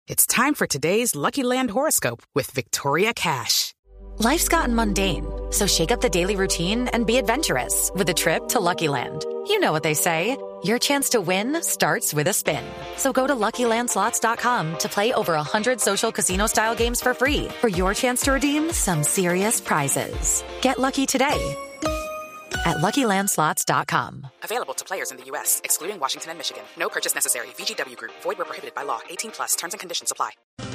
It's time for today's Lucky Land horoscope with Victoria Cash. Life's gotten mundane, so shake up the daily routine and be adventurous with a trip to Lucky Land. You know what they say, your chance to win starts with a spin. So go to LuckyLandSlots.com to play over 100 social casino-style games for free for your chance to redeem some serious prizes. Get lucky today at LuckyLandSlots.com. Available to players in the U.S., excluding Washington and Michigan. No purchase necessary. VGW Group. Void where prohibited by law. 18+. Terms and conditions apply.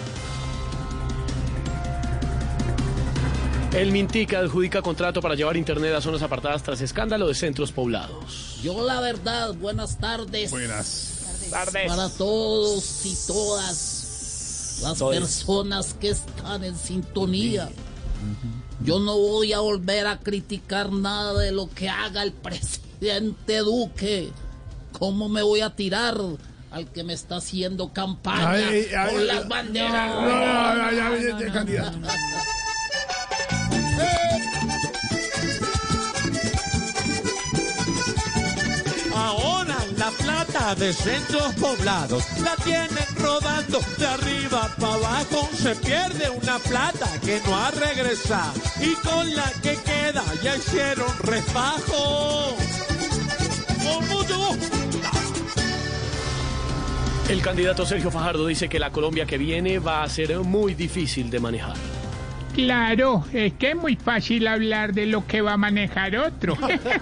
El Mintic adjudica contrato para llevar internet a zonas apartadas tras escándalo de centros poblados. Yo la verdad, buenas tardes. Buenas tardes. Para todos y todas las personas que están en sintonía. Yo no voy a volver a criticar nada de lo que haga el presidente Duque. ¿Cómo me voy a tirar al que me está haciendo campaña con las banderas? No, candidato. Ahora la plata de centros poblados la tienen rodando de arriba para abajo. Se pierde una plata que no ha regresado y con la que queda ya hicieron refajo. Con mucho gusto. El candidato Sergio Fajardo dice que la Colombia que viene va a ser muy difícil de manejar. Claro, es que es muy fácil hablar de lo que va a manejar otro.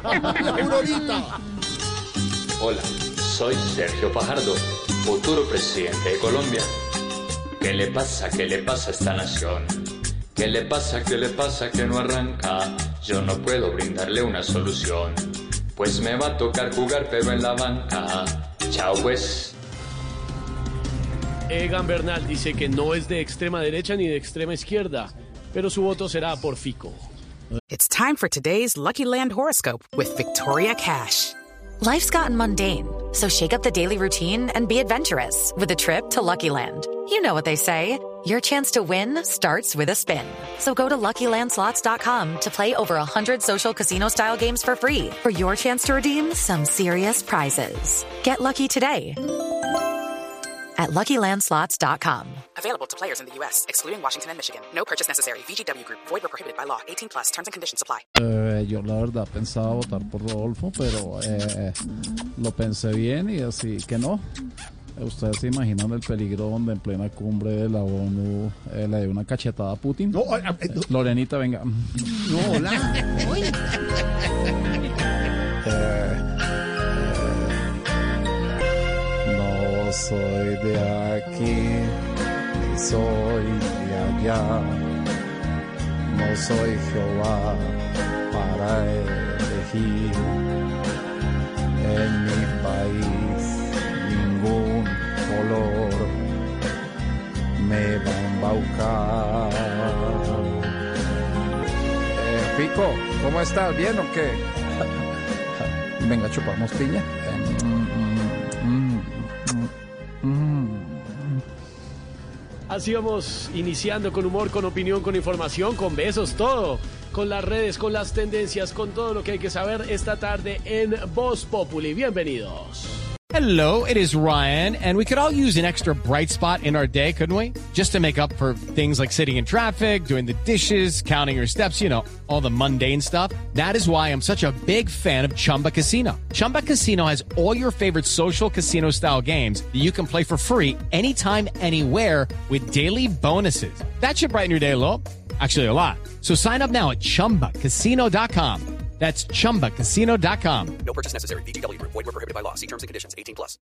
Hola, soy Sergio Fajardo, futuro presidente de Colombia. ¿Qué le pasa? ¿Qué le pasa a esta nación? ¿Qué le pasa? ¿Qué le pasa? Que no arranca. Yo no puedo brindarle una solución, pues me va a tocar jugar pero en la banca. Chao pues. Egan Bernal dice que no es de extrema derecha ni de extrema izquierda, pero su voto será por Fico. It's time for today's Lucky Land horoscope with Victoria Cash. Life's gotten mundane, so shake up the daily routine and be adventurous with a trip to Lucky Land. You know what they say, your chance to win starts with a spin. So go to LuckyLandSlots.com to play over 100 social casino-style games for free for your chance to redeem some serious prizes. Get lucky today at LuckyLandSlots.com. Available to players in the U.S., excluding Washington and Michigan. No purchase necessary. VGW Group. Void where prohibited by law. 18+. Terms and conditions apply. Yo la verdad pensaba votar por Rodolfo, pero lo pensé bien y así que no. ¿Ustedes se imaginan el peligro donde en plena cumbre de la ONU le dé una cachetada a Putin? No, Lorenita, venga. No, hola. No soy de aquí, ni soy de allá. No soy Jehová para elegir. En mi país ningún color me va a embaucar. Pico, ¿cómo estás? ¿Bien o qué? Venga, chupamos piña. Así vamos iniciando con humor, con opinión, con información, con besos, todo. Con las redes, con las tendencias, con todo lo que hay que saber esta tarde en Voz Populi. Bienvenidos. Hello, it is Ryan, and we could all use an extra bright spot in our day, couldn't we? Just to make up for things like sitting in traffic, doing the dishes, counting your steps, you know, all the mundane stuff. That is why I'm such a big fan of Chumba Casino. Chumba Casino has all your favorite social casino-style games that you can play for free anytime, anywhere with daily bonuses. That should brighten your day a little. Actually, a lot. So sign up now at ChumbaCasino.com. That's ChumbaCasino.com. No purchase necessary. VGW Group. Void where prohibited by law. See terms and conditions. 18+.